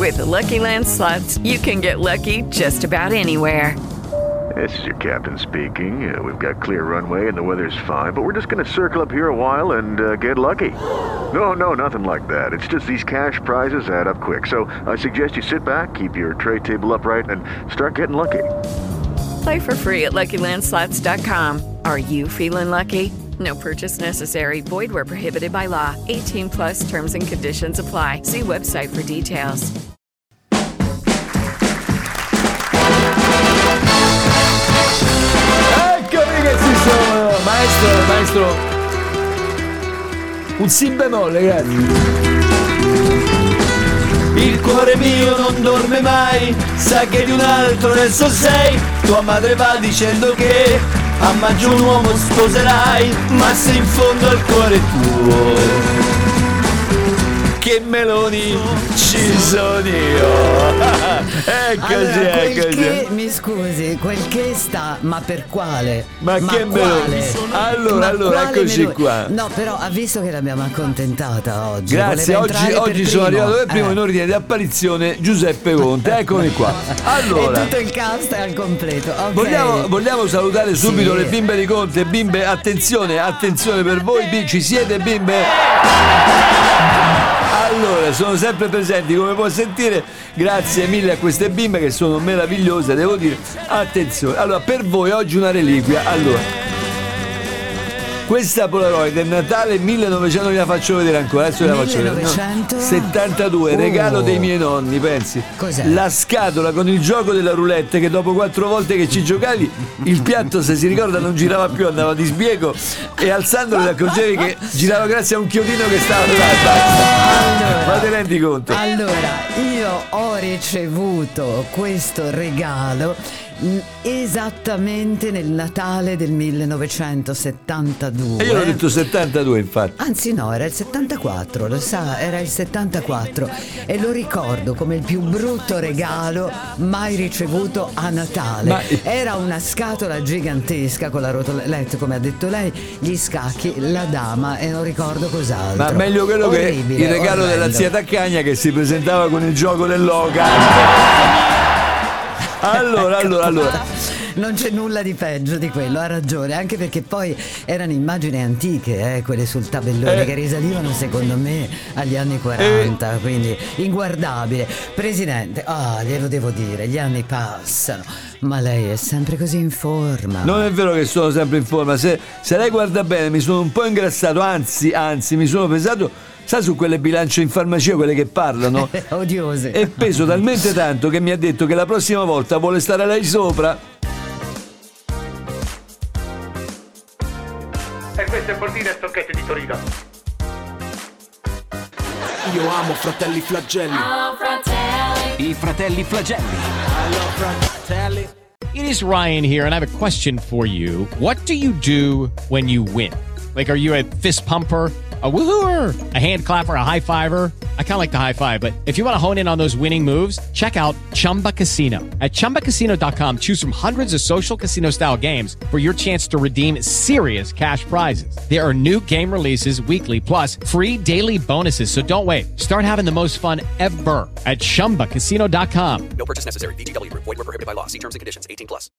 With the Lucky Land Slots, you can get lucky just about anywhere. This is your captain speaking. We've got clear runway and the weather's fine, but we're just going to circle up here a while and get lucky. No, nothing like that. It's just these cash prizes add up quick. So I suggest you sit back, keep your tray table upright, and start getting lucky. Play for free at LuckyLandSlots.com. Are you feeling lucky? No purchase necessary. Void where prohibited by law. 18 plus terms and conditions apply. See website for details. Eccomi che ci sono! Maestro! Un si bemolle, grazie. Il cuore mio non dorme mai, sa che di un altro adesso sei. Tua madre va dicendo che a maggio un uomo sposerai, ma se in fondo al cuore tuo che meloni ci sono io. Eccoci. Mi scusi, quel che sta, ma per quale? Ma che meloni? Allora, eccoci meloni? qua. No, però ha visto che l'abbiamo accontentata oggi. Grazie, oggi sono arrivato per primo in ordine di apparizione Giuseppe Conte. Eccomi qua. Allora, e tutto il cast è al completo. Okay. Vogliamo salutare subito le bimbe di Conte. Bimbe, attenzione per voi. Ci siete, bimbe? Allora, sono sempre presenti, come puoi sentire. Grazie mille a queste bimbe che sono meravigliose, devo dire. Attenzione, allora, per voi oggi una reliquia. Allora, questa Polaroid è Natale 1900, vi la faccio vedere ancora. Adesso ve la faccio vedere. 1972, regalo dei miei nonni, pensi? Cos'è? La scatola con il gioco della roulette, che dopo 4 volte che ci giocavi, il piatto, se si ricorda, non girava più, andava di sbiego, e alzandolo ti accorgevi che girava grazie a un chiodino che stava là. Ma te rendi conto? Allora, io ho ricevuto questo regalo esattamente nel Natale del 1972. E io l'ho detto 72, infatti. Anzi no, era il 74, lo sa, era il 74, e lo ricordo come il più brutto regalo mai ricevuto a Natale. Era una scatola gigantesca con la rotoletta, come ha detto lei, gli scacchi, la dama, e non ricordo cos'altro. Ma meglio quello orribile, che il regalo orrendo. della zia Taccagna, che si presentava con il gioco dell'oca. Allora. Non c'è nulla di peggio di quello, ha ragione, anche perché poi erano immagini antiche, quelle sul tabellone, che risalivano secondo me agli anni 40, quindi inguardabile. Presidente, glielo devo dire, gli anni passano, ma lei è sempre così in forma. Non è vero che sono sempre in forma, se lei guarda bene mi sono un po' ingrassato, anzi mi sono pesato. Sa, su quelle bilance in farmacia, quelle che parlano? Odiose. E peso talmente tanto che mi ha detto che la prossima volta vuole stare lei sopra. E questo è Bordino e Stocchetti di Torino. Io amo Fratelli Flagelli. I Fratelli Flagelli. It is Ryan here, and I have a question for you. What do you do when you win? Like, are you a fist pumper, a woohooer, a hand clapper, a high fiver? I kind of like the high five, but if you want to hone in on those winning moves, check out Chumba Casino. At ChumbaCasino.com, choose from hundreds of social casino style games for your chance to redeem serious cash prizes. There are new game releases weekly, plus free daily bonuses. So don't wait. Start having the most fun ever at ChumbaCasino.com. No purchase necessary. VGW Group. Void where prohibited by law. See terms and conditions. 18 plus.